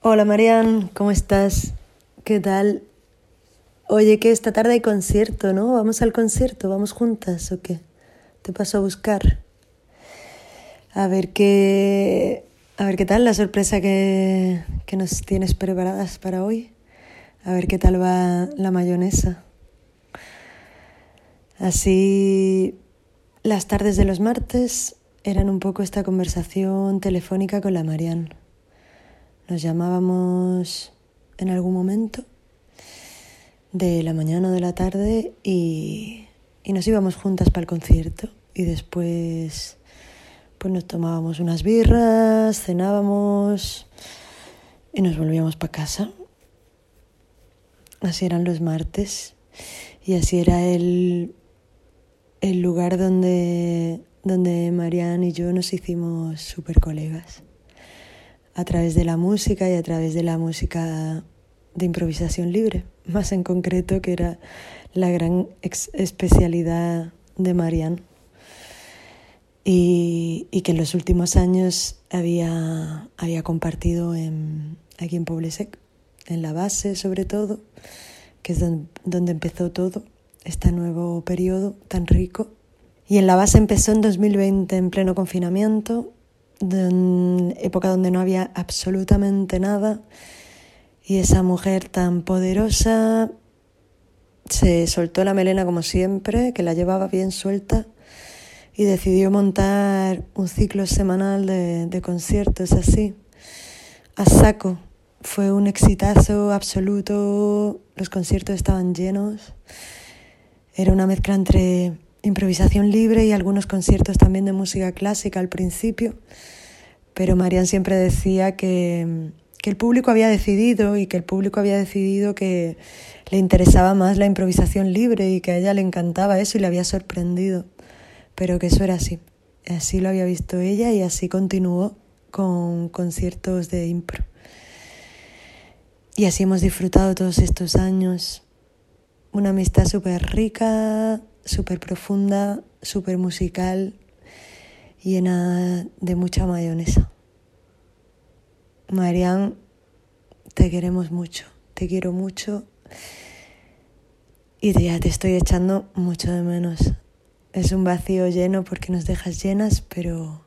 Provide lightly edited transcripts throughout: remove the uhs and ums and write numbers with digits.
Hola Marian, ¿cómo estás? ¿Qué tal? Oye, que esta tarde hay concierto, ¿no? ¿Vamos al concierto? ¿Vamos juntas o qué? Te paso a buscar. A ver qué... A ver qué tal la sorpresa que nos tienes preparadas para hoy. A ver qué tal va la mayonesa. Así, las tardes de los martes eran un poco esta conversación telefónica con la Marian. Nos llamábamos en algún momento de la mañana o de la tarde y nos íbamos juntas para el concierto y después pues nos tomábamos unas birras, cenábamos y nos volvíamos para casa. Así eran los martes y así era el lugar donde Marian y yo nos hicimos súper colegas. A través de la música y a través de la música de improvisación libre, más en concreto, que era la gran especialidad de Marian. Y que en los últimos años había compartido aquí en Poble-sec, en la base sobre todo, que es donde empezó todo, este nuevo periodo tan rico. Y en la base empezó en 2020, en pleno confinamiento, época donde no había absolutamente nada, y esa mujer tan poderosa se soltó la melena como siempre, que la llevaba bien suelta, y decidió montar un ciclo semanal de conciertos así, a saco. Fue un exitazo absoluto, los conciertos estaban llenos, era una mezcla entre improvisación libre y algunos conciertos también de música clásica al principio, pero Marian siempre decía que el público había decidido y que el público había decidido que le interesaba más la improvisación libre y que a ella le encantaba eso y le había sorprendido, pero que eso era así lo había visto ella y así continuó con conciertos de impro. Y así hemos disfrutado todos estos años, una amistad súper rica, súper profunda, súper musical, llena de mucha mayonesa. Marian, te queremos mucho, te quiero mucho y ya te estoy echando mucho de menos. Es un vacío lleno porque nos dejas llenas, pero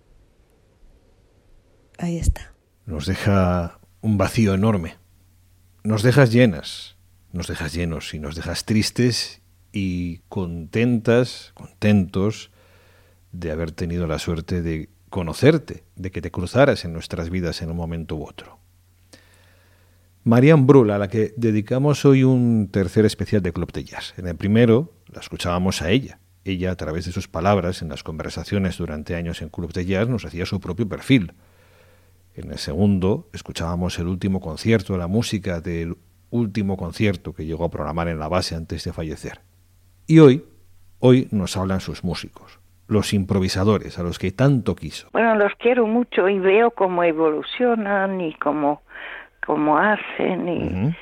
ahí está. Nos deja un vacío enorme. Nos dejas llenas, nos dejas llenos y nos dejas tristes y contentos de haber tenido la suerte de conocerte, de que te cruzaras en nuestras vidas en un momento u otro. Marian Brull, a la que dedicamos hoy un tercer especial de Club de Jazz. En el primero la escuchábamos a ella. Ella, a través de sus palabras en las conversaciones durante años en Club de Jazz, nos hacía su propio perfil. En el segundo escuchábamos el último concierto, la música del último concierto que llegó a programar en la base antes de fallecer. Y hoy nos hablan sus músicos, los improvisadores, a los que tanto quiso. Bueno, los quiero mucho y veo cómo evolucionan y cómo hacen y,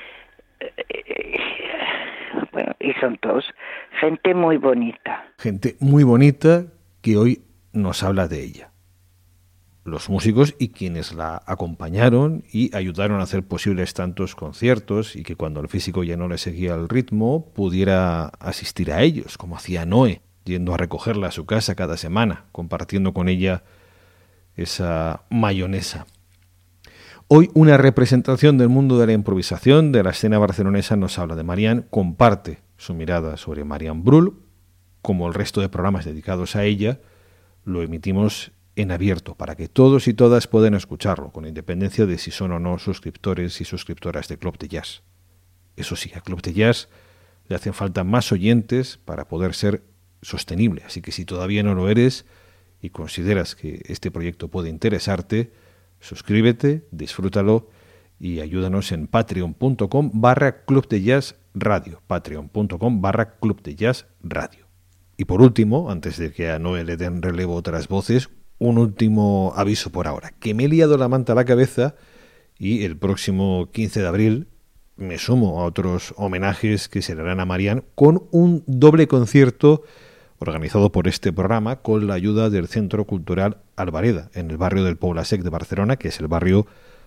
bueno, y son todos gente muy bonita. Gente muy bonita que hoy nos habla de ella. Los músicos y quienes la acompañaron y ayudaron a hacer posibles tantos conciertos y que cuando el físico ya no le seguía el ritmo pudiera asistir a ellos, como hacía Noé, yendo a recogerla a su casa cada semana, compartiendo con ella esa mayonesa. Hoy una representación del mundo de la improvisación, de la escena barcelonesa, nos habla de Marian, comparte su mirada sobre Marian Brull, como el resto de programas dedicados a ella, lo emitimos en abierto para que todos y todas puedan escucharlo, con independencia de si son o no suscriptores y suscriptoras de Club de Jazz. Eso sí, a Club de Jazz le hacen falta más oyentes para poder ser sostenible, así que si todavía no lo eres y consideras que este proyecto puede interesarte, suscríbete, disfrútalo y ayúdanos en patreon.com/Club de Jazz Radio, patreon.com/Club de Jazz Radio. Y por último, antes de que a Noé le den relevo otras voces, un último aviso por ahora, que me he liado la manta a la cabeza y el próximo 15 de abril me sumo a otros homenajes que se le harán a Marian con un doble concierto organizado por este programa con la ayuda del Centro Cultural Albareda, en el barrio del Poble-sec de Barcelona, que es el barrio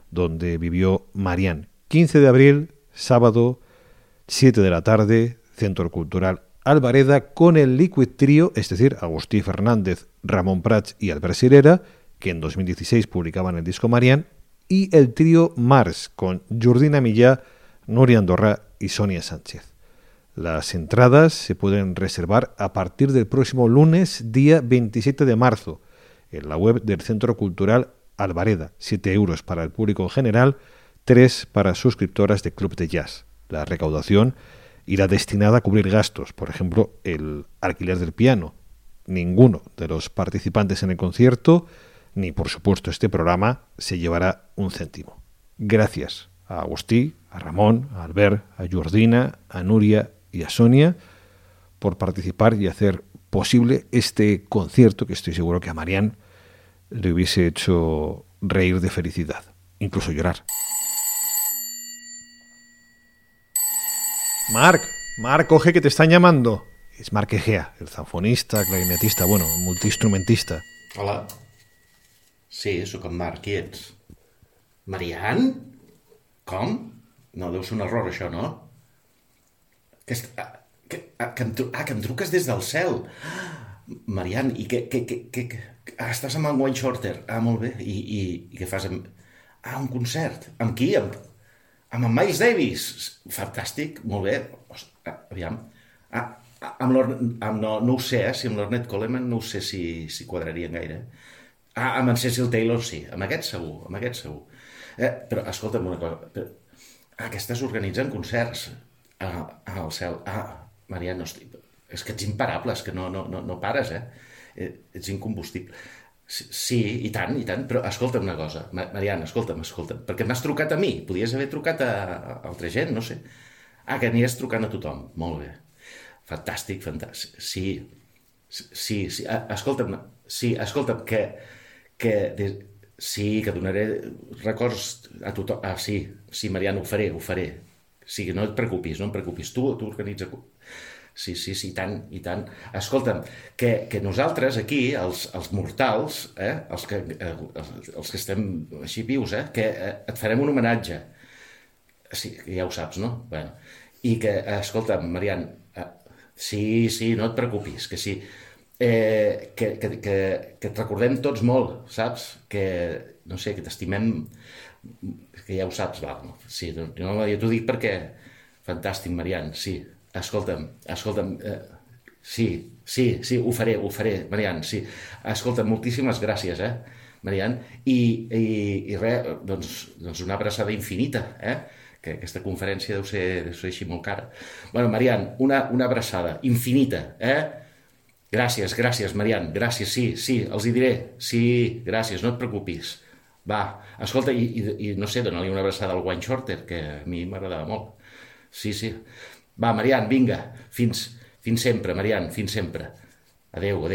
donde vivió Marián. 15 de abril, sábado, 7 de la tarde, Centro Cultural Albareda, con el Liquid Trio, es decir, Agustí Fernández, Ramón Prats y Albert Sirera, que en 2016 publicaban el disco Marián, y el trío Mars, con Jordina Millá, Núria Andorra y Sonia Sánchez. Las entradas se pueden reservar a partir del próximo lunes, día 27 de marzo, en la web del Centro Cultural Albareda. 7 euros para el público en general, 3 para suscriptoras de Club de Jazz. La recaudación irá destinada a cubrir gastos, por ejemplo, el alquiler del piano. Ninguno de los participantes en el concierto, ni por supuesto este programa, se llevará un céntimo. Gracias a Agustí, a Ramón, a Albert, a Jordina, a Núria y a Sonia por participar y hacer posible este concierto que estoy seguro que a Marián le hubiese hecho reír de felicidad, incluso llorar. Marc, coge que te están llamando. És Marc Egea, el zanfonista, clarinetista, bueno, multiinstrumentista. Hola. Sí, sóc en Marc. Qui ets? Marian? Com? No, deu ser un error, això, no? Que em truques des del cel. Marian, i estàs amb en Wayne Shorter? Ah, molt bé. I què fas? Un concert. Amb qui? Amb en Miles Davis. Fantàstic, molt bé. Aviam. No ho sé, si amb l'Ornette Coleman no ho sé si quadrarien gaire. Amb en Cecil Taylor sí, amb aquest segur. Però escolta'm una cosa, que estàs organitzant concerts al cel. Marià, és que ets imparable, és que no pares, ets incombustible. Sí, i tant, però escolta'm una cosa, Marian, escolta'm, perquè m'has trucat a mi, podies haver trucat a altra gent, no sé. Que aniràs trucant a tothom, molt bé. Fantàstic, sí, escolta'm, que donaré records a tothom. Sí, Marian, ho faré. Sí, no et preocupis, tu organitza. Sí, i tant. Escolta'm, que nosaltres aquí, els mortals, els que estem així vius, que et farem un homenatge. Sí, ja ho saps, no? Bueno, i que, escolta'm, Marian, sí, no et preocupis, que sí, que et recordem tots molt, saps? Que, no sé, que t'estimem, que ja ho saps, va, no? Sí, jo t'ho dic perquè, fantàstic, Marian, sí, escolta'm, sí, ho faré, Marian, sí, escolta'm, moltíssimes gràcies, Marian, i res, doncs una abraçada infinita, que aquesta conferència deu ser així molt cara. Bueno, Marian, una abraçada infinita, Gràcies, Marian, gràcies, sí, els hi diré, sí, gràcies, no et preocupis. Va, escolta, i no sé, dona-li una abraçada al Wayne Shorter, que a mi m'agradava molt. Sí. Va, Marian, vinga, fins sempre, Marian, fins sempre. Adéu.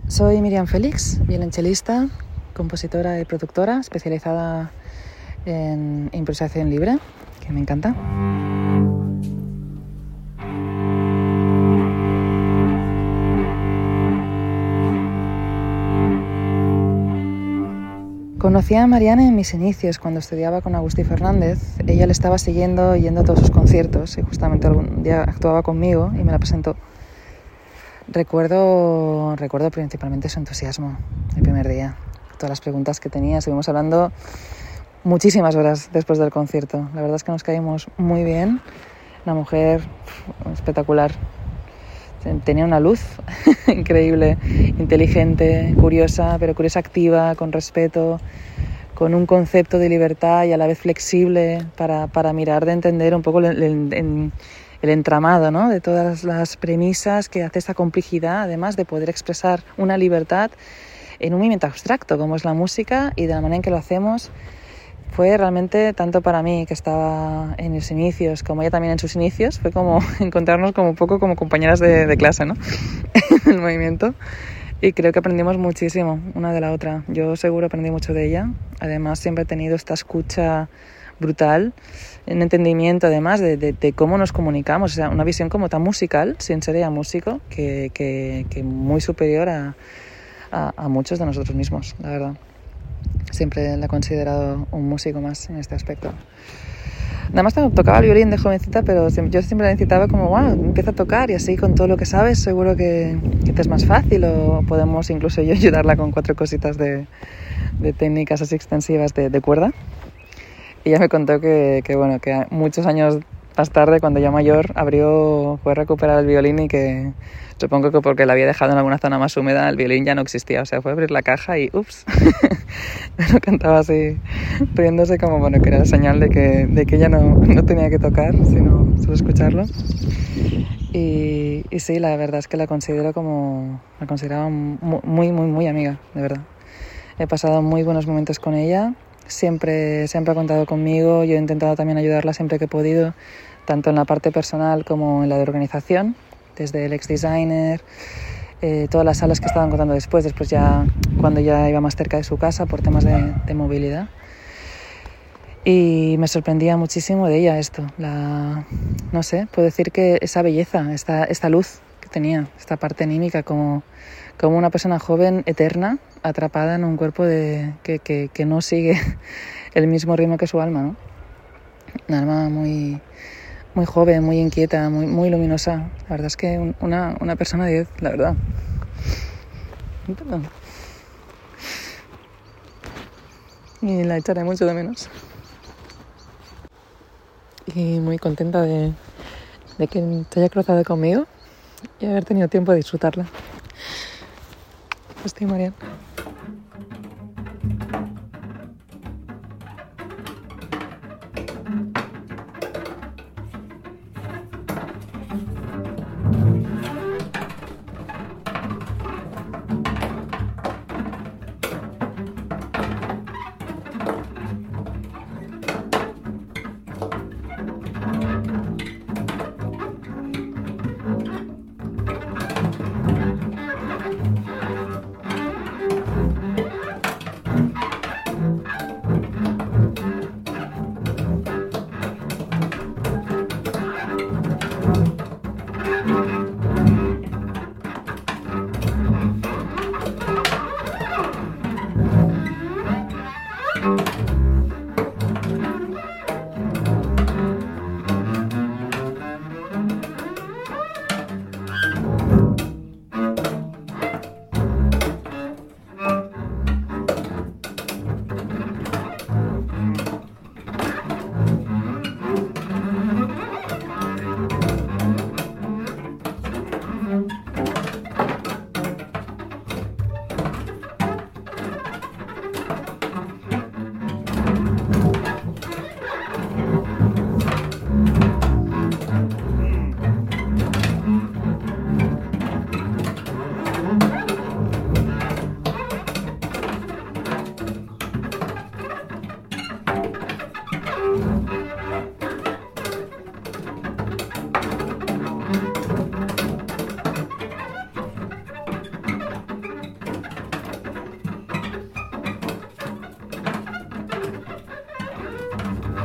Soy Miriam Félix, violonchelista, compositora y productora especializada en improvisación libre, que me encanta. Conocí a Marianne en mis inicios, cuando estudiaba con Agustí Fernández. Ella le estaba siguiendo, yendo a todos sus conciertos, y justamente algún día actuaba conmigo y me la presentó. Recuerdo principalmente su entusiasmo el primer día, todas las preguntas que tenía. Estuvimos hablando muchísimas horas después del concierto. La verdad es que nos caímos muy bien. Una mujer espectacular. Tenía una luz increíble, inteligente, curiosa, pero curiosa activa, con respeto, con un concepto de libertad y a la vez flexible para mirar, de entender un poco el entramado, ¿no?, de todas las premisas que hace esta complejidad, además de poder expresar una libertad en un movimiento abstracto como es la música, y de la manera en que lo hacemos. Fue realmente, tanto para mí, que estaba en mis inicios, como ella también en sus inicios, fue como encontrarnos como un poco como compañeras de clase, ¿no?, en el movimiento. Y creo que aprendimos muchísimo una de la otra. Yo seguro aprendí mucho de ella. Además, siempre he tenido esta escucha brutal, un entendimiento además de cómo nos comunicamos, o sea, una visión como tan musical, sin ser ella músico, que muy superior a muchos de nosotros mismos, la verdad. Siempre la he considerado un músico más en este aspecto. Nada más tocaba el violín de jovencita, pero yo siempre la incitaba como, wow, empieza a tocar, y así con todo lo que sabes seguro que te es más fácil, o podemos incluso yo ayudarla con 4 cositas de técnicas así extensivas de cuerda. Y ella me contó que muchos años más tarde, cuando ya mayor, fue a recuperar el violín, y que supongo que porque la había dejado en alguna zona más húmeda, el violín ya no existía. O sea, fue a abrir la caja y ¡ups! Pero cantaba así, riéndose como, que era señal de que ella no tenía que tocar, sino solo escucharlo. Y sí, la verdad es que la consideraba muy, muy, muy amiga, de verdad. He pasado muy buenos momentos con ella. Siempre ha contado conmigo. Yo he intentado también ayudarla siempre que he podido, tanto en la parte personal como en la de organización, desde el ex-designer, todas las salas que estaban contando después ya cuando ya iba más cerca de su casa por temas de movilidad. Y me sorprendía muchísimo de ella esto, no sé, puedo decir que esa belleza, esta luz que tenía, esta parte anímica, como una persona joven, eterna, atrapada en un cuerpo que no sigue el mismo ritmo que su alma, ¿no? Un alma muy, muy joven, muy inquieta, muy, muy luminosa. La verdad es que una persona 10, la verdad. Y la echaré mucho de menos. Y muy contenta de que te haya cruzado conmigo y haber tenido tiempo de disfrutarla. Estoy Marianne.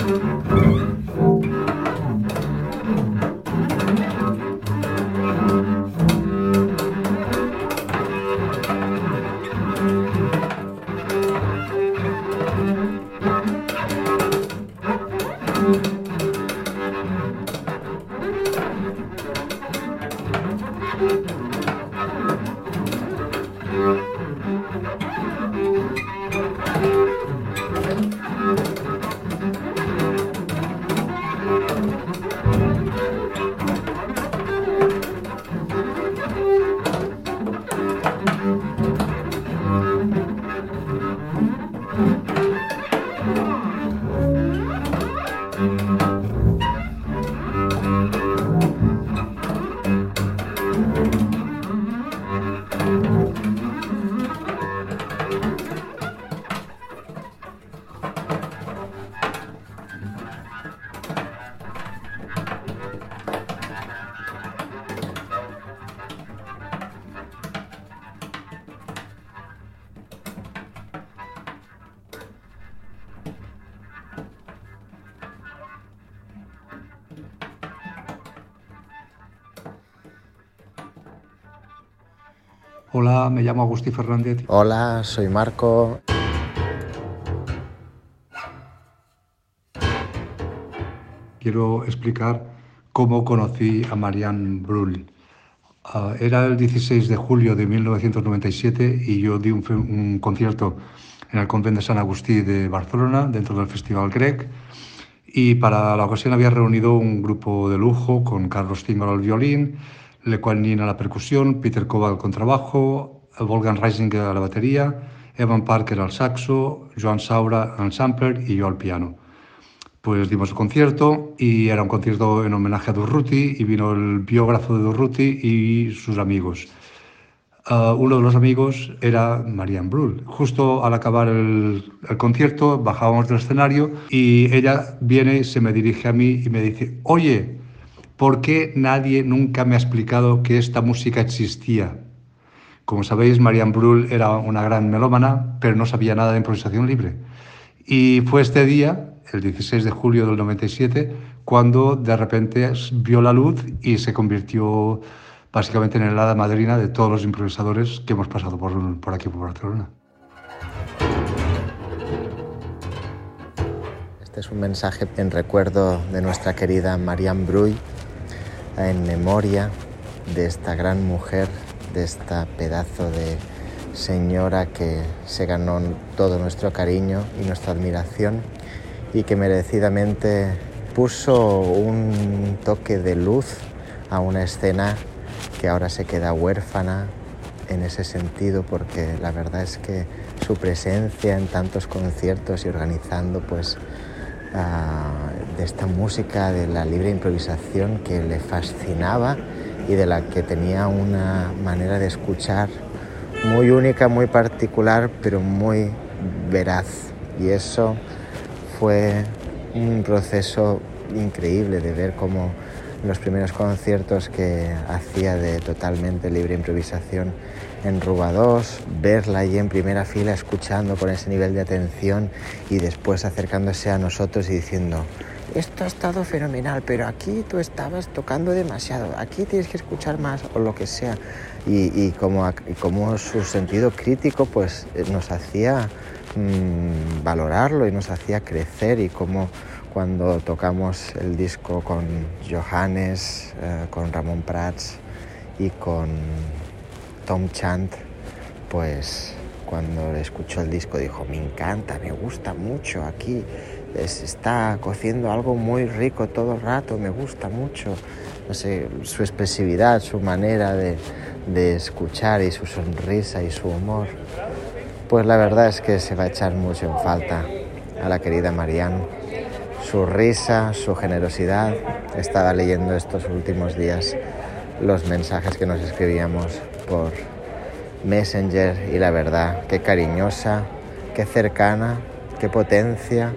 Hola, me llamo Agustí Fernández. Hola, soy Marco. Quiero explicar cómo conocí a Marianne Brull. Era el 16 de julio de 1997 y yo di un concierto en el Convent de Sant Agustí de Barcelona, dentro del Festival Grec. Y para la ocasión había reunido un grupo de lujo con Carlos Cíngaro al violín, Le Quan Yin a la percusión, Peter Kova al contrabajo, Wolfgang Reisinger a la batería, Evan Parker al saxo, Joan Saura al sampler y yo al piano. Pues dimos el concierto y era un concierto en homenaje a Durruti y vino el biógrafo de Durruti y sus amigos. Uno de los amigos era Marianne Brull. Justo al acabar el concierto bajábamos del escenario y ella viene, se me dirige a mí y me dice: oye, ¿por qué nadie nunca me ha explicado que esta música existía? Como sabéis, Marianne Brull era una gran melómana, pero no sabía nada de improvisación libre. Y fue este día, el 16 de julio del 97, cuando de repente vio la luz y se convirtió básicamente en el hada madrina de todos los improvisadores que hemos pasado por aquí, por Barcelona. Este es un mensaje en recuerdo de nuestra querida Marianne Brull, en memoria de esta gran mujer, de esta pedazo de señora que se ganó todo nuestro cariño y nuestra admiración y que merecidamente puso un toque de luz a una escena que ahora se queda huérfana en ese sentido, porque la verdad es que su presencia en tantos conciertos y organizando pues de esta música de la libre improvisación que le fascinaba y de la que tenía una manera de escuchar muy única, muy particular, pero muy veraz. Y eso fue un proceso increíble de ver cómo en los primeros conciertos que hacía de totalmente libre improvisación en Rubados, verla allí en primera fila escuchando con ese nivel de atención y después acercándose a nosotros y diciendo: esto ha estado fenomenal, pero aquí tú estabas tocando demasiado, aquí tienes que escuchar más, o lo que sea. Y como su sentido crítico pues nos hacía valorarlo y nos hacía crecer, y como cuando tocamos el disco con Johannes, con Ramon Prats y con Tom Chant, pues cuando escuchó el disco dijo: me encanta, me gusta mucho, aquí se está cociendo algo muy rico todo el rato, me gusta mucho. No sé, su expresividad, su manera de escuchar y su sonrisa y su humor, pues la verdad es que se va a echar mucho en falta a la querida Marianne. Su risa, su generosidad. Estaba leyendo estos últimos días los mensajes que nos escribíamos por Messenger y la verdad, qué cariñosa, qué cercana, qué potencia.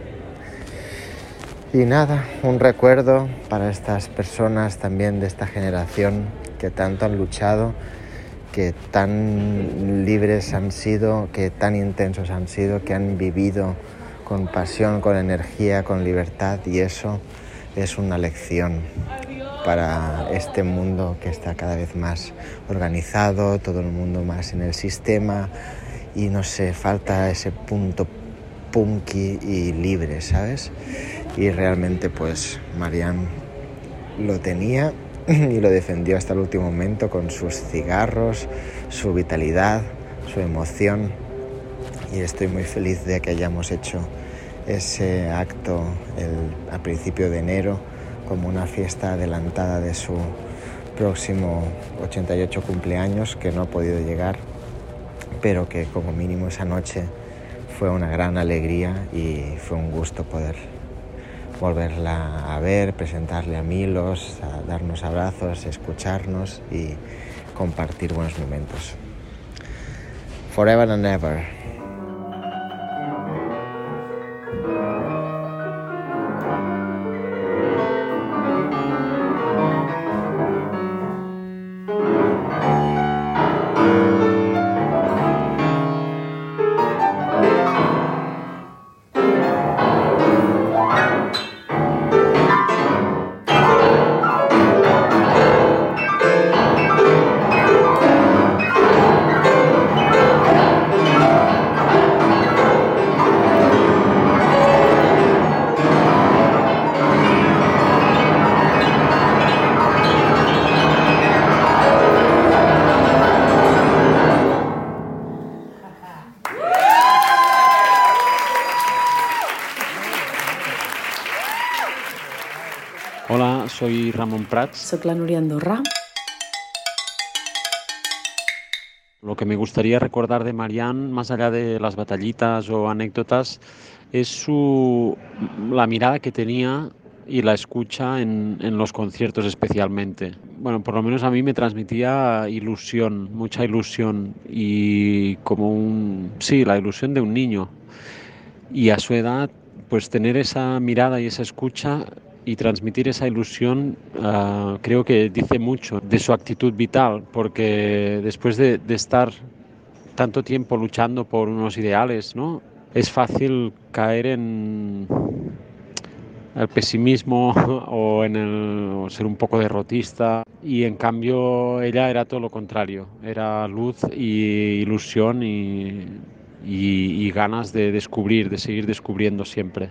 Y nada, un recuerdo para estas personas también de esta generación que tanto han luchado, que tan libres han sido, que tan intensos han sido, que han vivido con pasión, con energía, con libertad, y eso es una lección para este mundo que está cada vez más organizado, todo el mundo más en el sistema, y no sé, falta ese punto punky y libre, ¿sabes? Y realmente pues Marianne lo tenía y lo defendió hasta el último momento con sus cigarros, su vitalidad, su emoción, y estoy muy feliz de que hayamos hecho ese acto a principio de enero como una fiesta adelantada de su próximo 88 cumpleaños, que no ha podido llegar, pero que como mínimo esa noche fue una gran alegría y fue un gusto poder volverla a ver, presentarle a Milos, a darnos abrazos, escucharnos y compartir buenos momentos. Forever and ever. Hola, soy Ramón Prats. Soc la Núria Andorra. Lo que me gustaría recordar de Marianne, más allá de las batallitas o anécdotas, es la mirada que tenía y la escucha en los conciertos especialmente. Bueno, por lo menos a mí me transmitía ilusión, mucha ilusión, y la ilusión de un niño. Y a su edad, pues tener esa mirada y esa escucha y transmitir esa ilusión, creo que dice mucho de su actitud vital, porque después de estar tanto tiempo luchando por unos ideales, ¿no?, es fácil caer en el pesimismo o ser un poco derrotista, y en cambio ella era todo lo contrario, era luz y ilusión y ganas de descubrir, de seguir descubriendo siempre.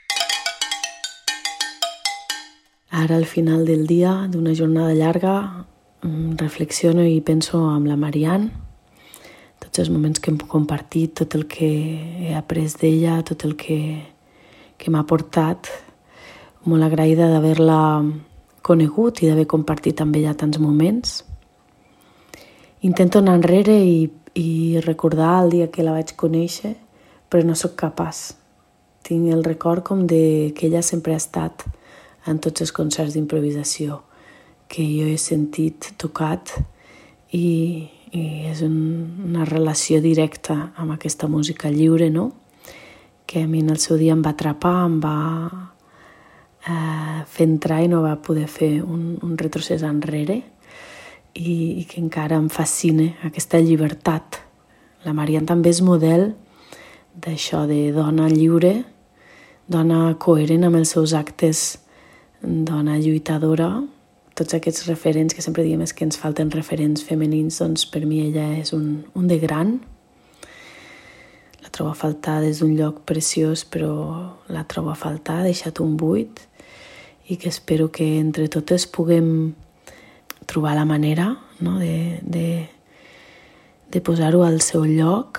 Ara, al final del dia, d'una jornada llarga, reflexiono i penso amb la Marianne, tots els moments que hem compartit, tot el que he après d'ella, tot el que m'ha portat. Molt agraïda d'haver-la conegut i d'haver compartit amb ella tants moments. Intento anar enrere i recordar el dia que la vaig conèixer, però no sóc capaç. Tinc el record com que ella sempre ha estat en tots els concerts d'improvisació que jo he sentit, tocat, i és una relació directa amb aquesta música lliure, no?, que a mi en el seu dia em va atrapar, em va fer entrar i no va poder fer un retrocés enrere, i que encara em fascina aquesta llibertat. La Marianne també és model d'això, de dona lliure, dona coherent amb els seus actes, dona lluitadora. Tots aquests referents que sempre diem és que ens falten referents femenins, doncs per mi ella és un de gran. La trobo a faltar des d'un lloc preciós, però la trobo a faltar, ha deixat un buit, i que espero que entre totes puguem trobar la manera, no?, de posar-ho al seu lloc,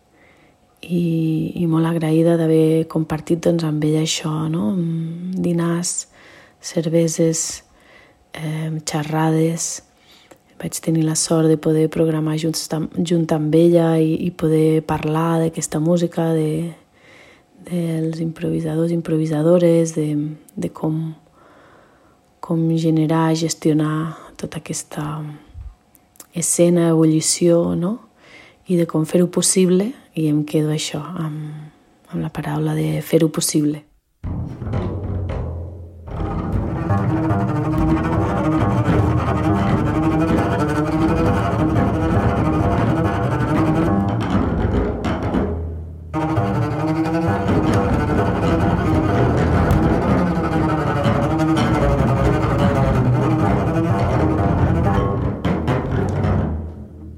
i molt agraïda d'haver compartit doncs, amb ella això, no?, dinars, cerveses, xerrades. Vaig tenir la sort de poder programar junt amb ella i poder parlar d'aquesta música, dels improvisadors i improvisadores, de com generar, gestionar tota aquesta escena, ebullició, no?, i de com fer-ho possible, i em quedo això, amb la paraula de fer-ho possible.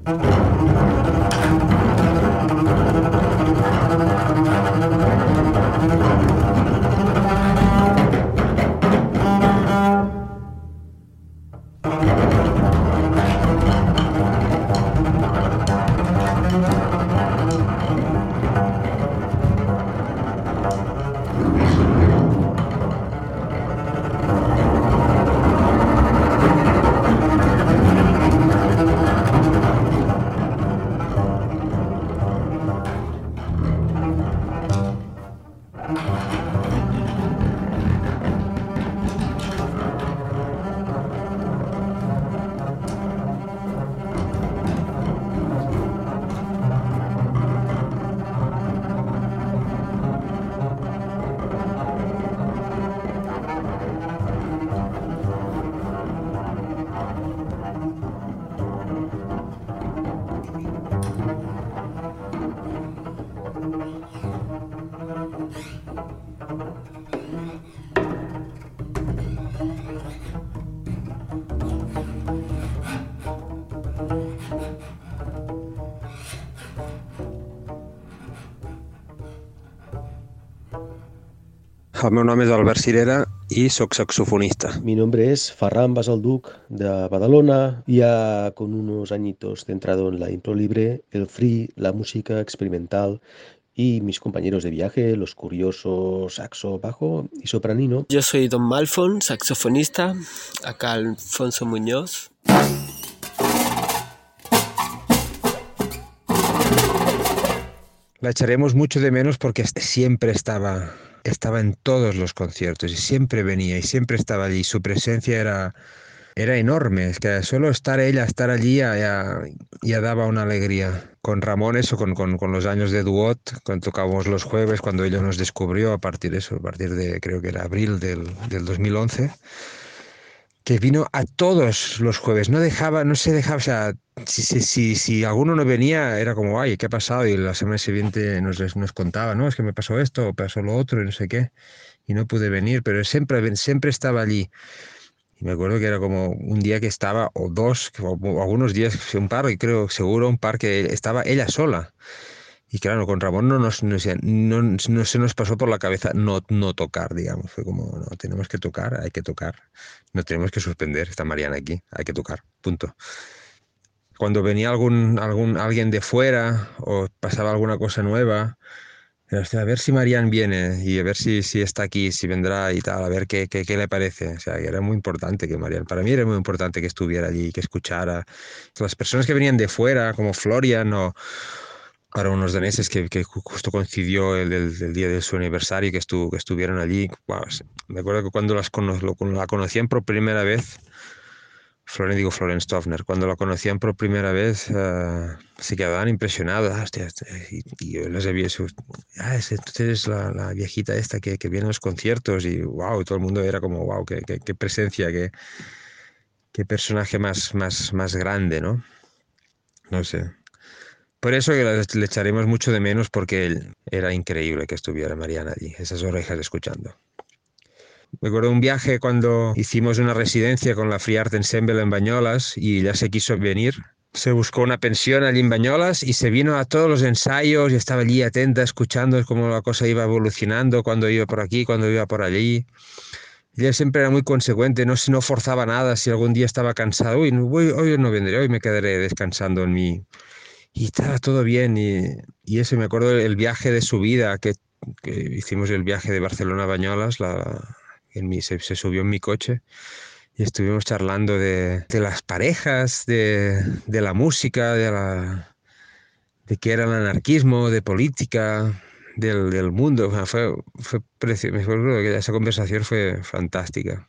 El meu nom és Albert Cirera y soy saxofonista. Mi nombre es Ferran Basalduc de Badalona, ya con unos añitos centrado en la impro libre, el free, la música experimental y mis compañeros de viaje, los curiosos, saxo, bajo y sopranino. Yo soy Don Malfon, saxofonista, acá Alfonso Muñoz. La echaremos mucho de menos porque siempre estaba en todos los conciertos y siempre venía y siempre estaba allí. Su presencia era enorme. Es que solo estar allí ya daba una alegría. Con Ramón eso, con los años de Duot, cuando tocábamos los jueves, cuando ella nos descubrió a partir de creo que era abril del 2011, que vino a todos los jueves, no se dejaba, o sea, si alguno no venía era como, ay, ¿qué ha pasado? Y la semana siguiente nos contaba, no, es que me pasó esto, o pasó lo otro y no sé qué, y no pude venir, pero siempre estaba allí. Y me acuerdo que era como un día que estaba, o dos, o algunos días, un par, y creo seguro un par que estaba ella sola. Y claro, con Ramón no se nos pasó por la cabeza no tocar, digamos. Fue como, no, tenemos que tocar, hay que tocar. No tenemos que suspender, está Mariana aquí, hay que tocar, punto. Cuando venía alguien de fuera o pasaba alguna cosa nueva, era, hostia, a ver si Marian viene y a ver si está aquí, si vendrá y tal, a ver qué le parece. O sea, era muy importante que Marian, para mí era muy importante que estuviera allí, que escuchara. Las personas que venían de fuera, como Florian o para unos daneses que justo coincidió el día de su aniversario y que estuvieron allí. Wow, me acuerdo que cuando la conocían por primera vez, Florian Stoffner, cuando la conocían por primera vez se quedaban impresionados. Hostia, y yo les había dicho, entonces es la viejita esta que viene a los conciertos y wow, todo el mundo era como wow, qué presencia, qué personaje más grande, ¿no? No sé. Por eso que le echaremos mucho de menos porque era increíble que estuviera Mariana allí, esas orejas escuchando. Me acuerdo de un viaje cuando hicimos una residencia con la Free Art Ensemble en Banyolas y ella se quiso venir. Se buscó una pensión allí en Banyolas y se vino a todos los ensayos y estaba allí atenta, escuchando cómo la cosa iba evolucionando, cuando iba por aquí, cuando iba por allí. Ella siempre era muy consecuente, no forzaba nada. Si algún día estaba cansado, hoy no vendré, hoy me quedaré descansando en mí. Y estaba todo bien y eso, me acuerdo el viaje de su vida, que hicimos el viaje de Barcelona a Banyolas, se subió en mi coche y estuvimos charlando de las parejas, de la música, de qué era el anarquismo, de política, del mundo. O sea, fue precioso. Me acuerdo que esa conversación fue fantástica.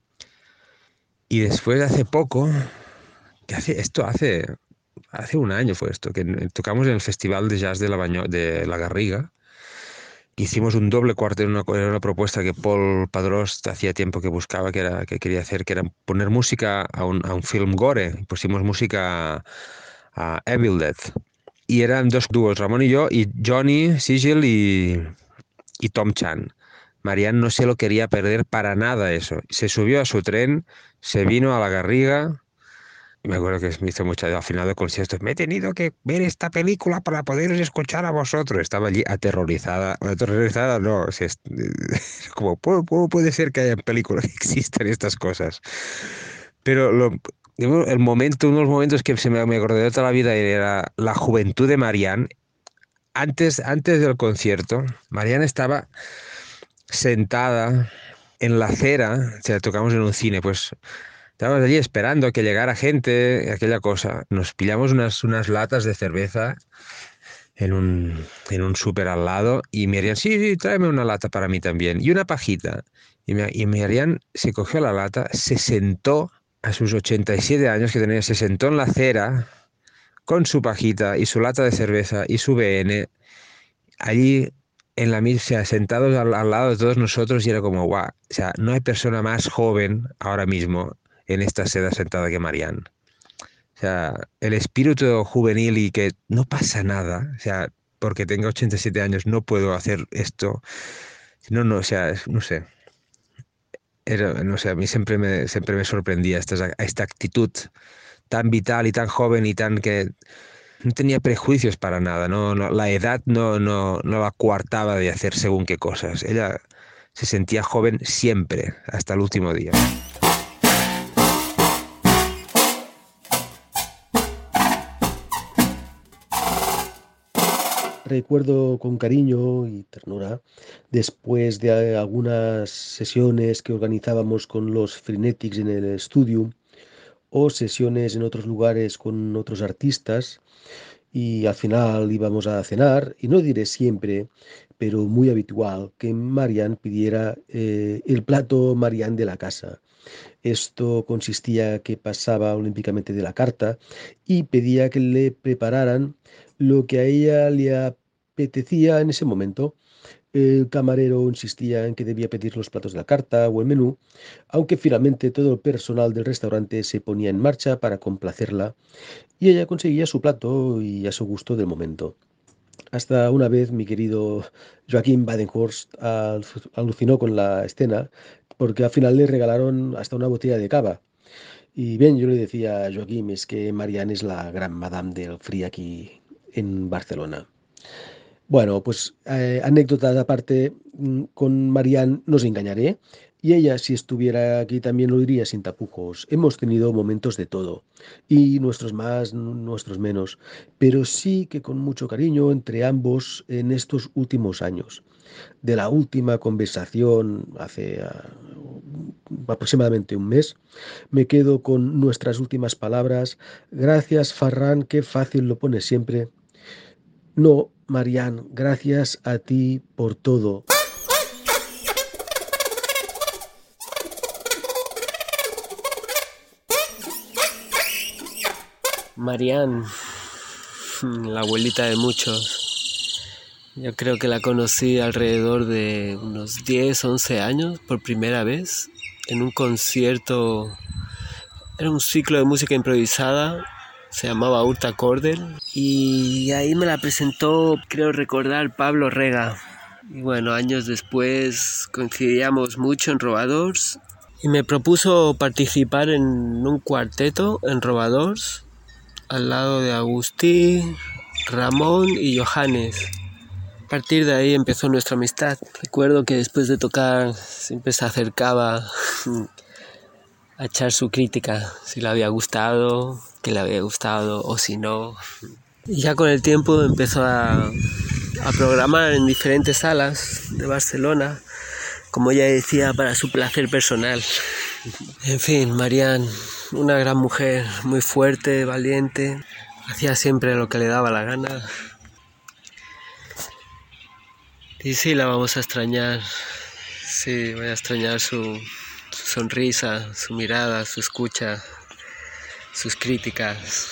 Y después, hace poco, hace un año fue esto, que tocamos en el Festival de Jazz de la Garriga. Hicimos un doble cuarteto, era una propuesta que Paul Padrós hacía tiempo que buscaba, que quería hacer, que era poner música a un film gore. Pusimos música a Evil Dead. Y eran dos dúos, Ramón y yo, y Johnny Sigil y Tom Chan. Marian no se lo quería perder para nada eso. Se subió a su tren, se vino a la Garriga. Y me acuerdo que me hizo mucho al final del concierto. Me he tenido que ver esta película para poderos escuchar a vosotros. Estaba allí aterrorizada. Aterrorizada no. O sea, como, ¿cómo puede ser que haya películas que existan estas cosas? Pero uno de los momentos que me acordé de toda la vida era la juventud de Marianne. Antes del concierto, Marianne estaba sentada en la acera. O sea, tocamos en un cine, pues estábamos allí esperando a que llegara gente, aquella cosa. Nos pillamos unas latas de cerveza en un súper al lado y me harían, sí, tráeme una lata para mí también. Y una pajita. Y me harían, se cogió la lata, se sentó a sus 87 años que tenía, se sentó en la acera con su pajita y su lata de cerveza y su BN, allí en la misa, sentados al lado de todos nosotros, y era como, guau, o sea, no hay persona más joven ahora mismo en esta seda sentada que Marianne. O sea, el espíritu juvenil y que no pasa nada, o sea, porque tengo 87 años no puedo hacer esto. No, o sea, no sé. No sé, a mí siempre me sorprendía esta actitud tan vital y tan joven y tan que no tenía prejuicios para nada, la edad no la coartaba de hacer según qué cosas. Ella se sentía joven siempre, hasta el último día. Recuerdo con cariño y ternura, después de algunas sesiones que organizábamos con los Frenetics en el estudio, o sesiones en otros lugares con otros artistas, y al final íbamos a cenar, y no diré siempre, pero muy habitual, que Marianne pidiera el plato Marianne de la casa. Esto consistía que pasaba olímpicamente de la carta y pedía que le prepararan lo que a ella le apetecía en ese momento. El camarero insistía en que debía pedir los platos de la carta o el menú, aunque finalmente todo el personal del restaurante se ponía en marcha para complacerla y ella conseguía su plato y a su gusto del momento. Hasta una vez mi querido Joaquín Badenhorst alucinó con la escena porque al final le regalaron hasta una botella de cava. Y bien, yo le decía a Joaquín, es que Marianne es la gran madame del free aquí en Barcelona. Bueno, pues anécdotas aparte, con Marianne no os engañaré, y ella si estuviera aquí también lo diría sin tapujos. Hemos tenido momentos de todo, y nuestros más, nuestros menos, pero sí que con mucho cariño entre ambos en estos últimos años. De la última conversación hace aproximadamente un mes, me quedo con nuestras últimas palabras. Gracias, Ferran, qué fácil lo pones siempre. No, Marianne, gracias a ti por todo. Marianne, la abuelita de muchos. Yo creo que la conocí alrededor de unos 10, 11 años por primera vez en un concierto. Era un ciclo de música improvisada, se llamaba Urta Cordel, y ahí me la presentó, creo recordar, Pablo Rega. Y bueno, años después coincidíamos mucho en Robadors y me propuso participar en un cuarteto en Robadors al lado de Agustí, Ramón y Johannes. A partir de ahí empezó nuestra amistad. Recuerdo que después de tocar siempre se acercaba a echar su crítica, si le había gustado, que le había gustado o si no. Y ya con el tiempo empezó a programar en diferentes salas de Barcelona, como ella decía, para su placer personal. En fin, Marianne, una gran mujer, muy fuerte, valiente, hacía siempre lo que le daba la gana. Y sí, la vamos a extrañar. Sí, voy a extrañar su sonrisa, su mirada, su escucha, sus críticas.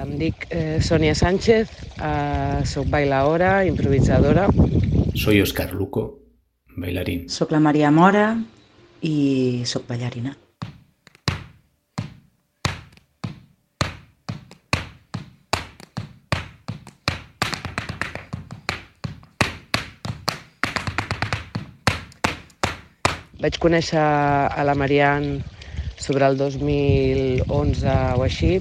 Em dic Sonia Sánchez, soc bailaora, improvisadora. Soy Oscar Luco, bailarín. Soc la Maria Mora i soc ballarina. Vaig conèixer a la Marian sobre el 2011 o així.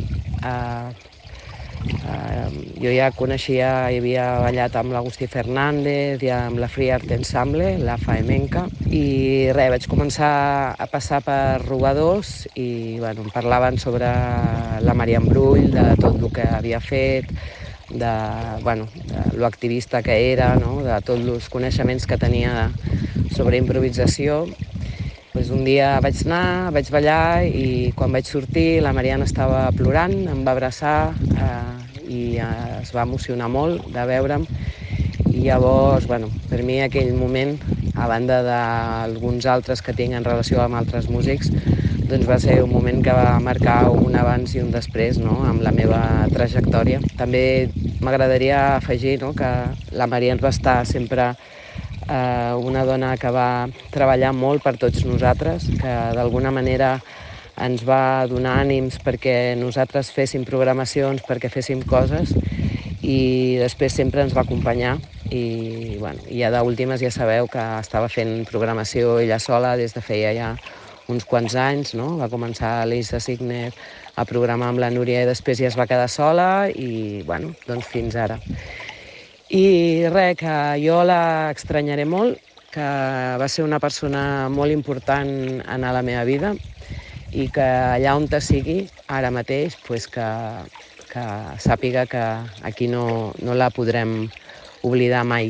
Jo ja coneixia, hi havia ballat amb l'Agustí Fernández i amb la Free Art Ensemble, la Faemenca, i res, vaig començar a passar per robadors i bueno, em parlaven sobre la Marian Brull, de tot el que havia fet, de lo activista que era, no? De tots els coneixements que tenia sobre improvisació. Pues un dia vaig anar, vaig ballar i quan vaig sortir la Marian estava plorant, em va abraçar i es va emocionar molt de veure'm. I llavors, per mi aquell moment, a banda d'alguns altres que tinc en relació amb altres músics, doncs va ser un moment que va marcar un abans i un després, no?, amb la meva trajectòria. També m'agradaria afegir, no?, que la Marian va estar sempre una dona que va treballar molt per tots nosaltres, que d'alguna manera ens va donar ànims perquè nosaltres féssim programacions, perquè féssim coses, i després sempre ens va acompanyar. I ja d'últimes ja sabeu que estava fent programació ella sola des de feia ja uns quants anys, no? Va començar l'Elisa Signer a programar amb la Núria i després ja es va quedar sola i doncs fins ara. I res, que jo l'extranyaré molt, que va ser una persona molt important en la meva vida i que allà on te sigui, ara mateix, pues que sàpiga que aquí no la podrem oblidar mai.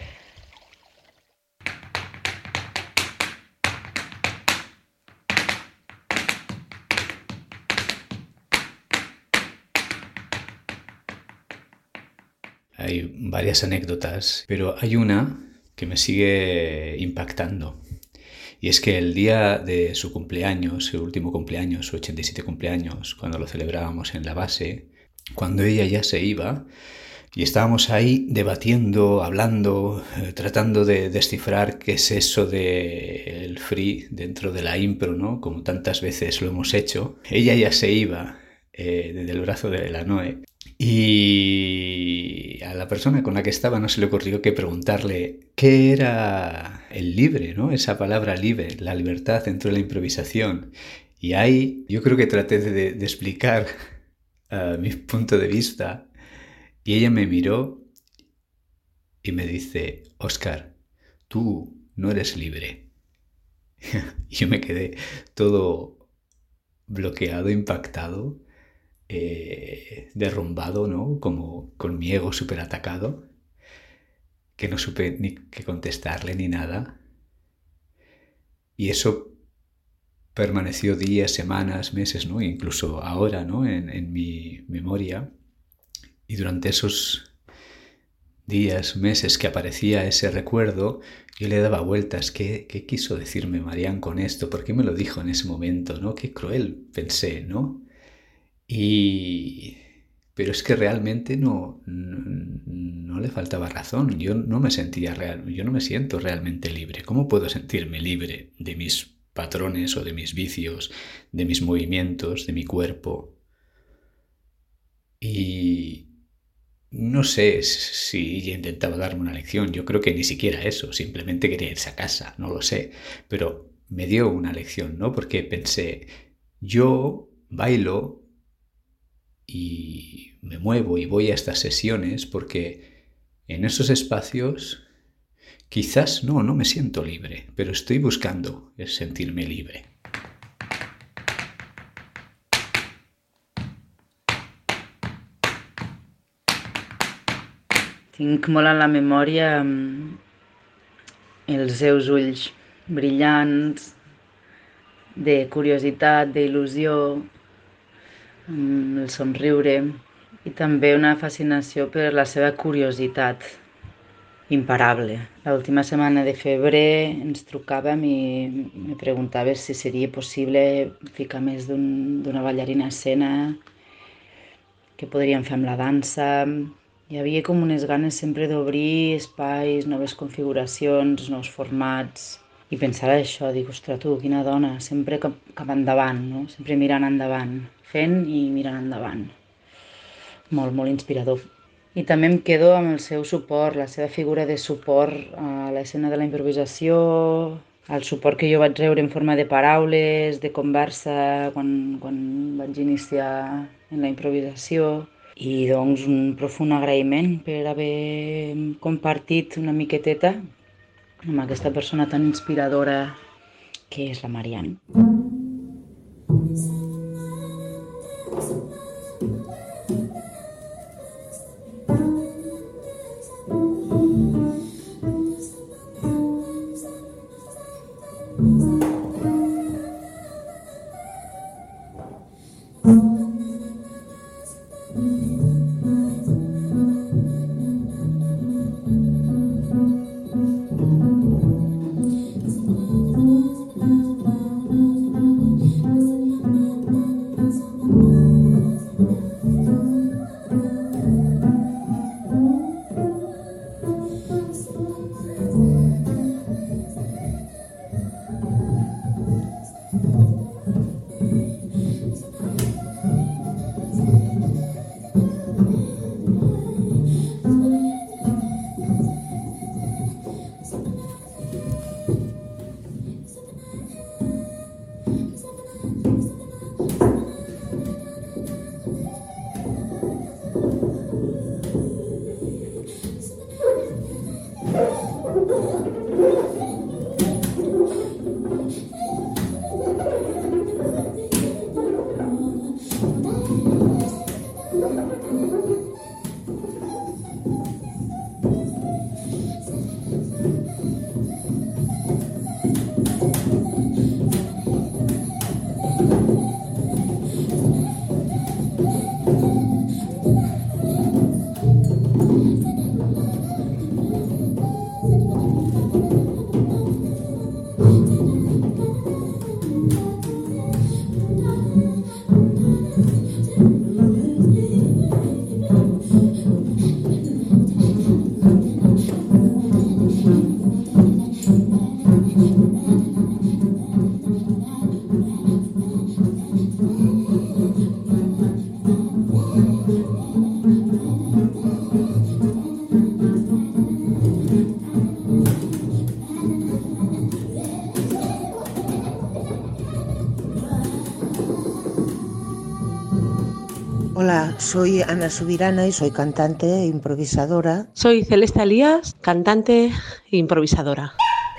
Hay varias anécdotas, pero hay una que me sigue impactando. Y es que el día de su cumpleaños, su último cumpleaños, su 87 cumpleaños, cuando lo celebrábamos en la base, cuando ella ya se iba, y estábamos ahí debatiendo, hablando, tratando de descifrar qué es eso del free dentro de la impro, ¿no? Como tantas veces lo hemos hecho. Ella ya se iba desde el brazo de la Noe. Y a la persona con la que estaba no se le ocurrió que preguntarle qué era el libre, ¿no? Esa palabra libre, la libertad dentro de la improvisación. Y ahí yo creo que traté de explicar mi punto de vista y ella me miró y me dice: Óscar, tú no eres libre. Y yo me quedé todo bloqueado, impactado, derrumbado, ¿no? Como con mi ego súper atacado, que no supe ni qué contestarle ni nada. Y eso permaneció días, semanas, meses, ¿no? Incluso ahora, ¿no? En mi memoria. Y durante esos días, meses que aparecía ese recuerdo, yo le daba vueltas. ¿Qué quiso decirme Marian con esto? ¿Por qué me lo dijo en ese momento, ¿no? Qué cruel, pensé, ¿no? Pero es que realmente no le faltaba razón. Yo no me siento realmente libre. ¿Cómo puedo sentirme libre de mis patrones o de mis vicios, de mis movimientos, de mi cuerpo? Y no sé si ella intentaba darme una lección. Yo creo que ni siquiera eso. Simplemente quería irse a casa, no lo sé. Pero me dio una lección, ¿no? Porque pensé, yo bailo y me muevo y voy a estas sesiones porque en esos espacios quizás no me siento libre, pero estoy buscando el sentirme libre. Tinc molt en la memòria els seus ulls brillants, de curiositat, d'il·lusió, el somriure i també una fascinació per la seva curiositat imparable. L'última setmana de febrer ens trucàvem i me preguntava si seria possible ficar més d'una ballarina a escena, què podríem fer amb la dansa. Hi havia com unes ganes sempre d'obrir espais, noves configuracions, nous formats. I pensar això, dic, ostres, tu, quina dona, sempre cap endavant, no? Sempre mirant endavant, fent i mirant endavant. Molt, molt inspirador. I també em quedo amb el seu suport, la seva figura de suport a l'escena de la improvisació, el suport que jo vaig rebre en forma de paraules, de conversa, quan vaig iniciar en la improvisació. I doncs un profund agraïment per haver compartit una miqueteta amb aquesta persona tan inspiradora que és la Marianne. Hola, soy Ana Subirana y soy cantante e improvisadora. Soy Celeste Elías, cantante e improvisadora.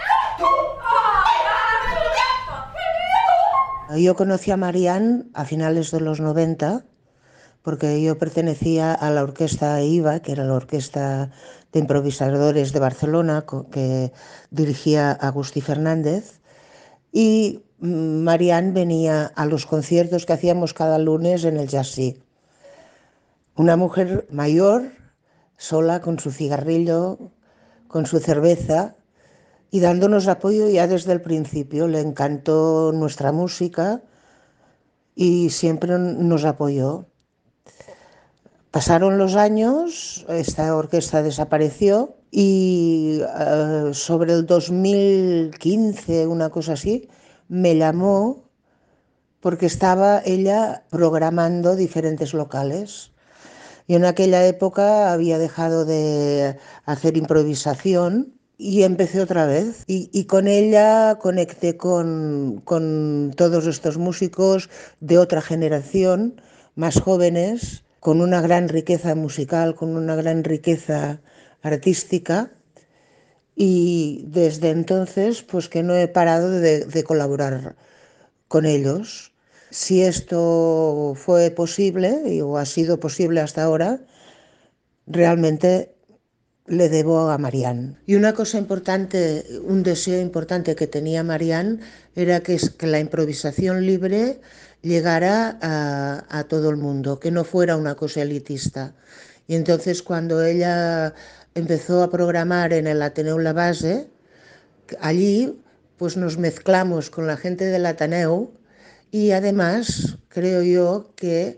Yo conocí a Marianne a finales de los 90 porque yo pertenecía a la orquesta IVA, que era la orquesta de improvisadores de Barcelona, que dirigía Agustí Fernández, y Marianne venía a los conciertos que hacíamos cada lunes en el Jazzí. Una mujer mayor, sola, con su cigarrillo, con su cerveza y dándonos apoyo ya desde el principio. Le encantó nuestra música y siempre nos apoyó. Pasaron los años, esta orquesta desapareció y sobre el 2015, una cosa así, me llamó porque estaba ella programando diferentes locales. Yo en aquella época había dejado de hacer improvisación y empecé otra vez. Y con ella conecté con todos estos músicos de otra generación, más jóvenes, con una gran riqueza musical, con una gran riqueza artística. Y desde entonces, pues que no he parado de colaborar con ellos. Si esto fue posible, o ha sido posible hasta ahora, realmente le debo a Marianne. Y una cosa importante, un deseo importante que tenía Marianne era que la improvisación libre llegara a todo el mundo, que no fuera una cosa elitista. Y entonces cuando ella empezó a programar en el Ateneu La Base, allí pues nos mezclamos con la gente del Ateneu. Y además creo yo que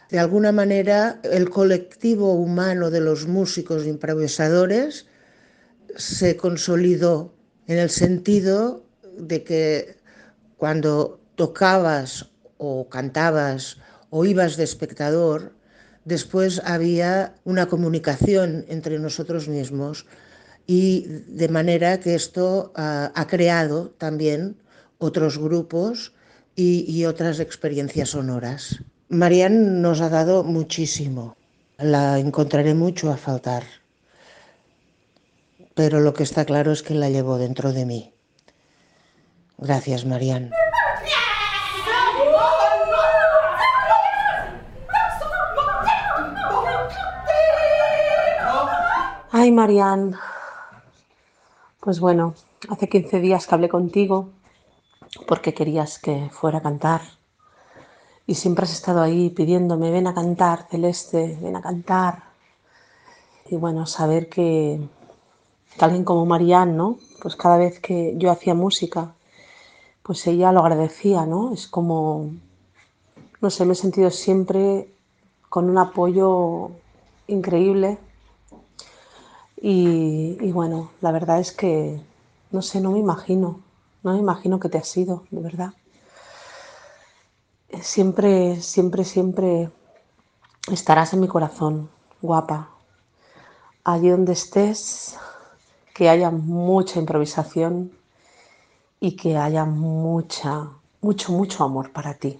De alguna manera, el colectivo humano de los músicos improvisadores se consolidó en el sentido de que cuando tocabas o cantabas o ibas de espectador, después había una comunicación entre nosotros mismos y de manera que esto ha creado también otros grupos y otras experiencias sonoras. Marian nos ha dado muchísimo. La encontraré mucho a faltar. Pero lo que está claro es que la llevo dentro de mí. Gracias, Marian. Ay, Marian. Pues bueno, hace 15 días que hablé contigo porque querías que fuera a cantar. Y siempre has estado ahí pidiéndome, ven a cantar, Celeste, ven a cantar. Y bueno, saber que alguien como Marian, ¿no? Pues cada vez que yo hacía música, pues ella lo agradecía, ¿no? Es como, no sé, me he sentido siempre con un apoyo increíble. Y bueno, la verdad es que, no sé, no me imagino que te has ido, de verdad. Siempre, siempre, siempre estarás en mi corazón, guapa. Allí donde estés, que haya mucha improvisación y que haya mucho amor para ti.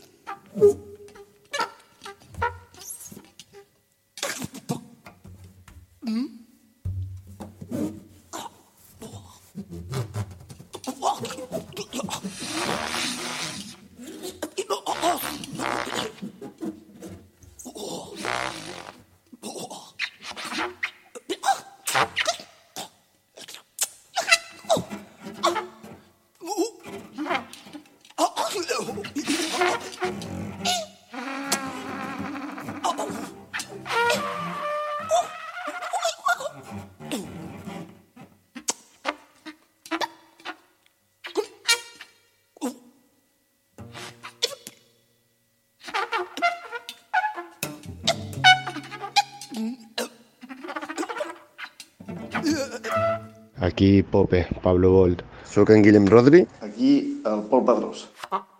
Aquí Pope, Pablo Bolt. Soc en Guillem Rodri. Aquí el Pol Padrós.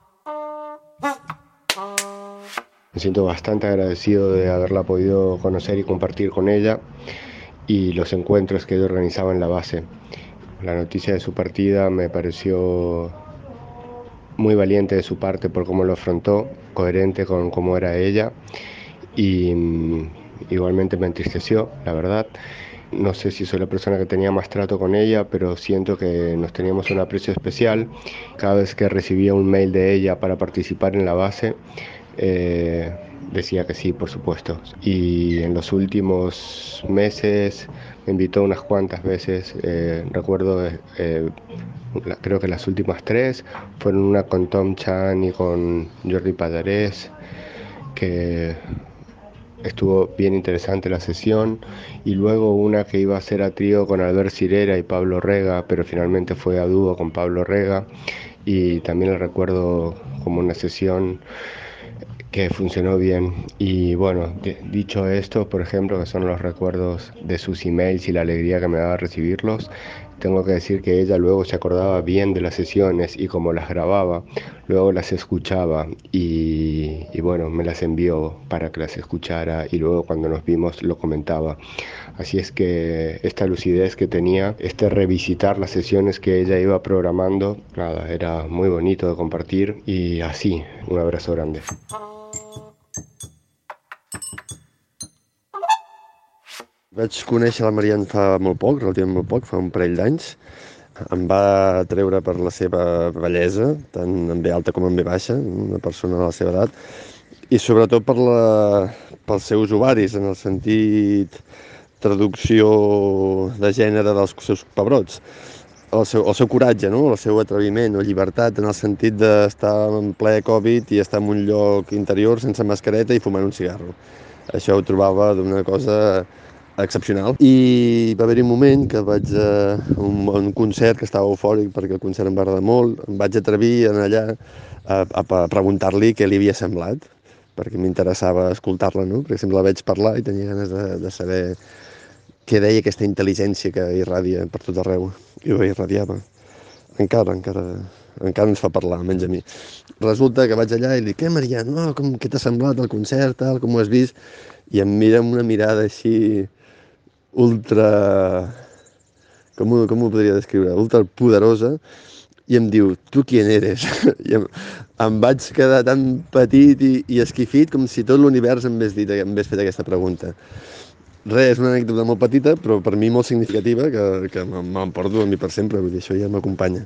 Me siento bastante agradecido de haberla podido conocer y compartir con ella y los encuentros que ella organizaba en la base. La noticia de su partida me pareció muy valiente de su parte por cómo lo afrontó, coherente con cómo era ella y igualmente me entristeció, la verdad. No sé si soy la persona que tenía más trato con ella, pero siento que nos teníamos un aprecio especial. Cada vez que recibía un mail de ella para participar en la base, decía que sí, por supuesto. Y en los últimos meses me invitó unas cuantas veces. Recuerdo, creo que las últimas 3 fueron una con Tom Chan y con Jordi Padarés, que estuvo bien interesante la sesión, y luego una que iba a ser a trío con Albert Cirera y Pablo Rega, pero finalmente fue a dúo con Pablo Rega, y también la recuerdo como una sesión que funcionó bien. Y bueno, dicho esto, por ejemplo, que son los recuerdos de sus emails y la alegría que me daba recibirlos, tengo que decir que ella luego se acordaba bien de las sesiones y como las grababa, luego las escuchaba y bueno, me las envió para que las escuchara y luego cuando nos vimos lo comentaba. Así es que esta lucidez que tenía, este revisitar las sesiones que ella iba programando, nada, era muy bonito de compartir y así, un abrazo grande. Vaig conèixer la Marian fa molt poc, relativament molt poc, fa un parell d'anys. Em va treure per la seva bellesa, tant en ve alta com en ve baixa, una persona de la seva edat, i sobretot pels seus ovaris, en el sentit traducció de gènere dels seus pebrots. El seu coratge, no? El seu atreviment o llibertat, en el sentit d'estar en ple Covid i estar en un lloc interior sense mascareta i fumant un cigarro. Això ho trobava d'una cosa excepcional. I va haver-hi un moment que vaig a un concert que estava eufòric perquè el concert em va agradar molt, em vaig atrevir a anar allà a preguntar-li què li havia semblat, perquè m'interessava escoltar-la, no? Perquè sempre la veig parlar i tenia ganes de saber què deia aquesta intel·ligència que irradia per tot arreu. I ho irradiava. Encara ens fa parlar, almenys a mi. Resulta que vaig allà i li dic, Marian, no, què t'ha semblat el concert, tal, com ho has vist? I em mira amb una mirada així ultra... Com ho podria descriure? Ultra poderosa, i em diu, tu qui eres? I em vaig quedar tan petit i esquifit com si tot l'univers em hagués fet aquesta pregunta. Res, és una anècdota molt petita, però per mi molt significativa, que m'emporto a mi per sempre, vull dir, això ja m'acompanya.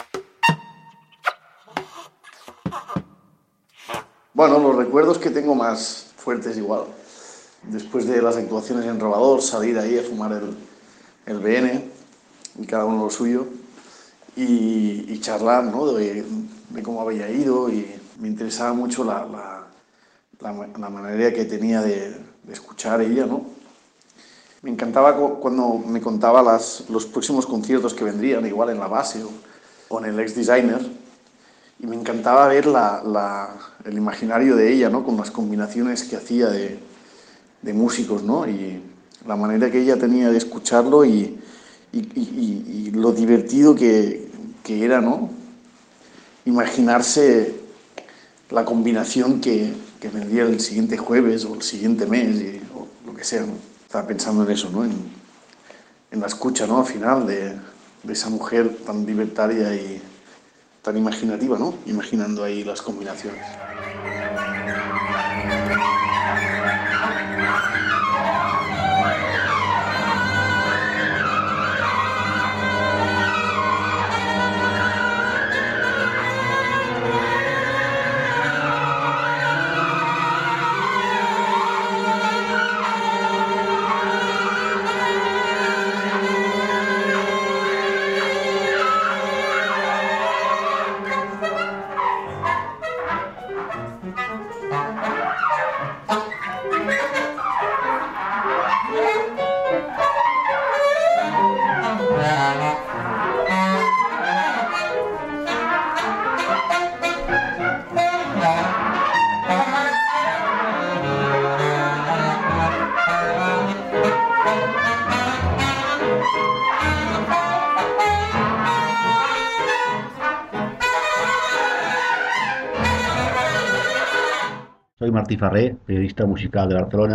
Bueno, los recuerdos que tengo más fuertes igual. Después de las actuaciones en Robador, salir ahí a fumar el BN, y cada uno lo suyo, y charlar, ¿no? de cómo había ido, y me interesaba mucho la manera que tenía de escuchar ella, ¿no? Me encantaba cuando me contaba los próximos conciertos que vendrían, igual en la base o en el ex-designer, y me encantaba ver el imaginario de ella, ¿no? Con las combinaciones que hacía de músicos, ¿no? Y la manera que ella tenía de escucharlo y lo divertido que era, ¿no? Imaginarse la combinación que vendría el siguiente jueves o el siguiente mes o lo que sea, ¿no? Estaba pensando en eso, ¿no? En la escucha, ¿no? Al final de esa mujer tan libertaria y tan imaginativa, ¿no? Imaginando ahí las combinaciones. Soy Martí Farré, periodista musical de Barcelona.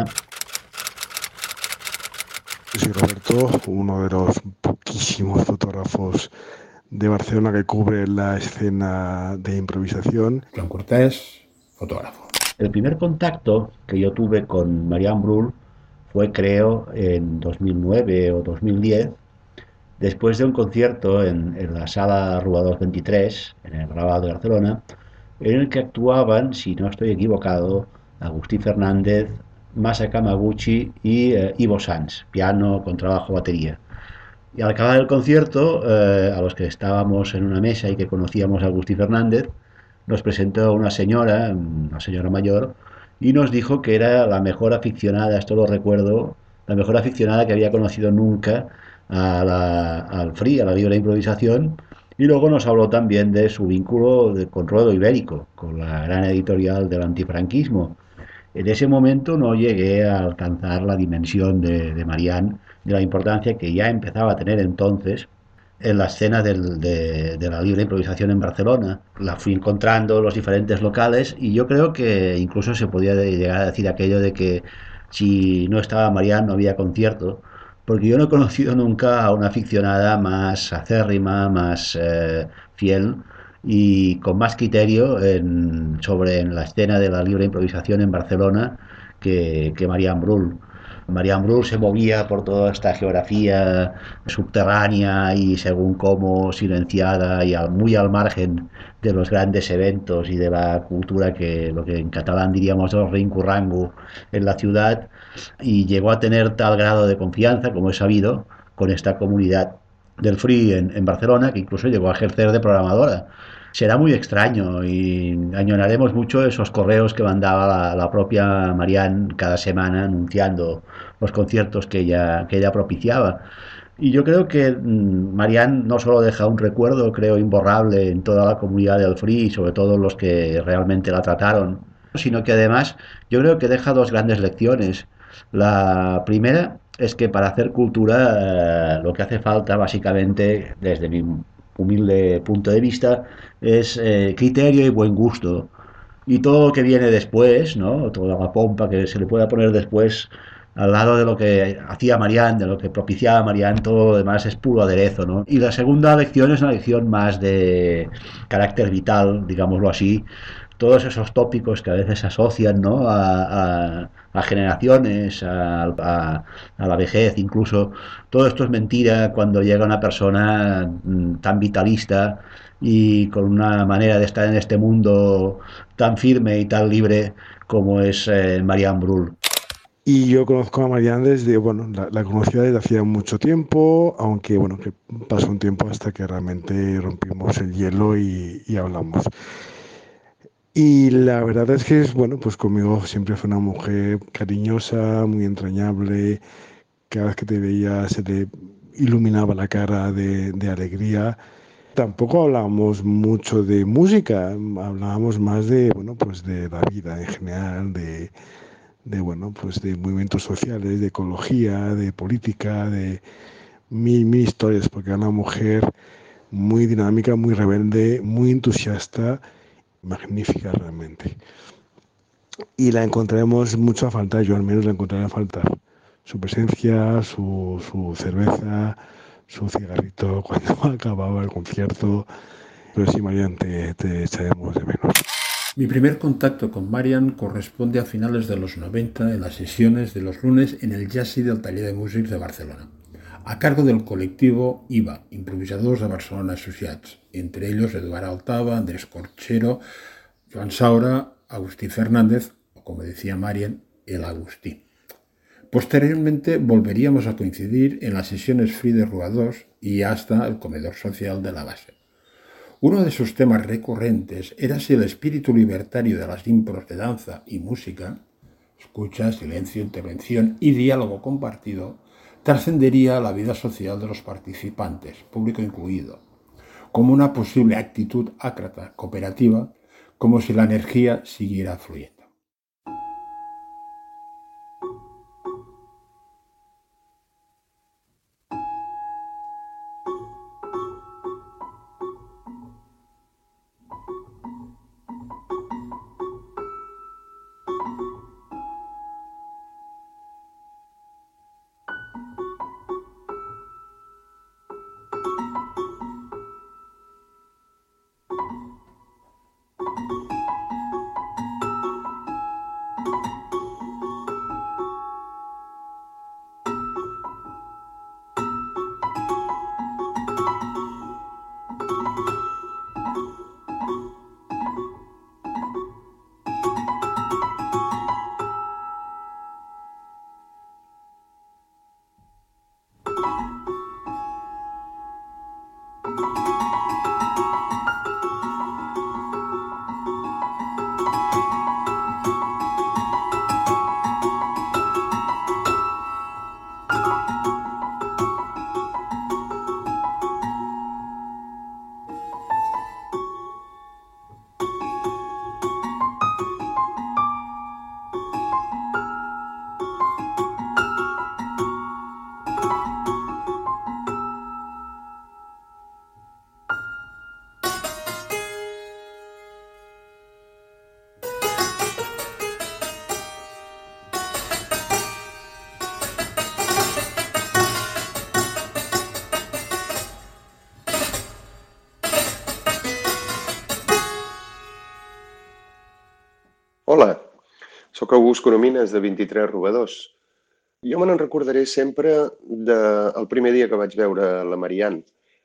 Soy Roberto, uno de los poquísimos fotógrafos de Barcelona que cubre la escena de improvisación. Joan Cortés, fotógrafo. El primer contacto que yo tuve con Marian Brull fue, creo, en 2009 o 2010, después de un concierto en la sala Robador 23, en el Raval de Barcelona, en el que actuaban, si no estoy equivocado, Agustí Fernández, Masa Kamaguchi y Ivo Sanz, piano, contrabajo, batería. Y al acabar el concierto, a los que estábamos en una mesa y que conocíamos a Agustí Fernández, nos presentó una señora mayor, y nos dijo que era la mejor aficionada, esto lo recuerdo, la mejor aficionada que había conocido nunca al free, a la libre improvisación. Y luego nos habló también de su vínculo con Ruedo Ibérico, con la gran editorial del antifranquismo. En ese momento no llegué a alcanzar la dimensión de Marian, de la importancia que ya empezaba a tener entonces en la escena de la libre improvisación en Barcelona. La fui encontrando en los diferentes locales y yo creo que incluso se podía llegar a decir aquello de que si no estaba Marian no había concierto, porque yo no he conocido nunca a una aficionada más acérrima, más fiel y con más criterio sobre la escena de la libre improvisación en Barcelona que Marian Brull. Marian Brull se movía por toda esta geografía subterránea y según cómo silenciada y muy al margen de los grandes eventos y de la cultura que lo que en catalán diríamos el rincurrango en la ciudad, y llegó a tener tal grado de confianza, como he sabido, con esta comunidad del free en Barcelona, que incluso llegó a ejercer de programadora. Será muy extraño y añoraremos mucho esos correos que mandaba la propia Marian cada semana anunciando los conciertos que ella propiciaba. Y yo creo que Marian no solo deja un recuerdo, creo, imborrable en toda la comunidad del free y sobre todo los que realmente la trataron sino que además yo creo que deja dos grandes lecciones. La primera es que para hacer cultura lo que hace falta básicamente, desde mi humilde punto de vista, es criterio y buen gusto. Y todo lo que viene después, ¿no? Toda la pompa que se le pueda poner después al lado de lo que hacía Marianne, de lo que propiciaba Marianne, todo lo demás es puro aderezo, ¿no? Y la segunda lección es una lección más de carácter vital, digámoslo así. Todos esos tópicos que a veces se asocian, ¿no? A generaciones, a la vejez incluso. Todo esto es mentira cuando llega una persona tan vitalista y con una manera de estar en este mundo tan firme y tan libre como es Marianne Brühl. Y yo conozco a Marianne desde, bueno, la conocía desde hacía mucho tiempo, aunque, bueno, que pasó un tiempo hasta que realmente rompimos el hielo y hablamos. Y la verdad es que, bueno, pues conmigo siempre fue una mujer cariñosa, muy entrañable. Cada vez que te veía se le iluminaba la cara de alegría. Tampoco hablábamos mucho de música, hablábamos más de, bueno, pues de la vida en general, bueno, pues de movimientos sociales, de ecología, de política, de mil historias, porque era una mujer muy dinámica, muy rebelde, muy entusiasta, magnífica realmente. Y la encontraremos mucho a faltar, yo al menos la encontraré a faltar. Su presencia, su cerveza, su cigarrito cuando acababa el concierto. Pero sí, Marianne, te echaremos de menos. Mi primer contacto con Marianne corresponde a finales de los 90 en las sesiones de los lunes en el Jazzy del Taller de Músics de Barcelona, a cargo del colectivo IVA, Improvisadors de Barcelona Associats, entre ellos Eduard Altava, Andrés Corchero, Joan Saura, Agustí Fernández, o como decía Marianne, el Agustí. Posteriormente volveríamos a coincidir en las sesiones free de Ruados y hasta el comedor social de la base. Uno de sus temas recurrentes era si el espíritu libertario de las impros de danza y música, escucha, silencio, intervención y diálogo compartido, trascendería a la vida social de los participantes, público incluido, como una posible actitud ácrata, cooperativa, como si la energía siguiera fluyendo. Hola, sóc August Coromines, de 23 Robadors. Jo me n'en recordaré sempre del primer dia que vaig veure la Marianne.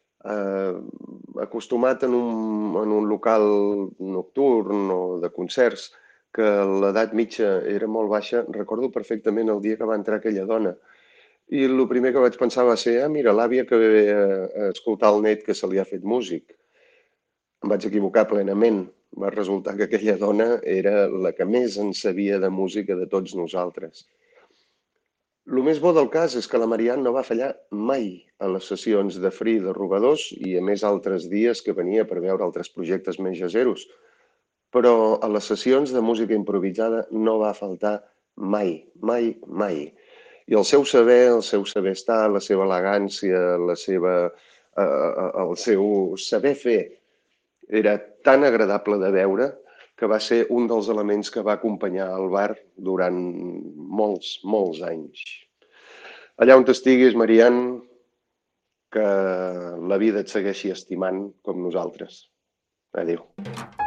Acostumat en un local nocturn o de concerts, que l'edat mitja era molt baixa, recordo perfectament el dia que va entrar aquella dona. I el primer que vaig pensar va ser, mira, l'àvia que ve a escoltar el net que se li ha fet músic. Em vaig equivocar plenament. Va resultar que aquella dona era la que més en sabia de música de tots nosaltres. El més bo del cas és que la Marianne no va fallar mai a les sessions de free de Robadors i a més altres dies que venia per veure altres projectes més jazzeros. però a les sessions de música improvisada no va faltar mai, mai, mai. I el seu saber estar, la seva elegància, el seu saber fer era tan agradable de veure que va ser un dels elements que va acompanyar el bar durant molts, molts anys. Allà on estiguis, Marian, que la vida et segueixi estimant com nosaltres. Adéu.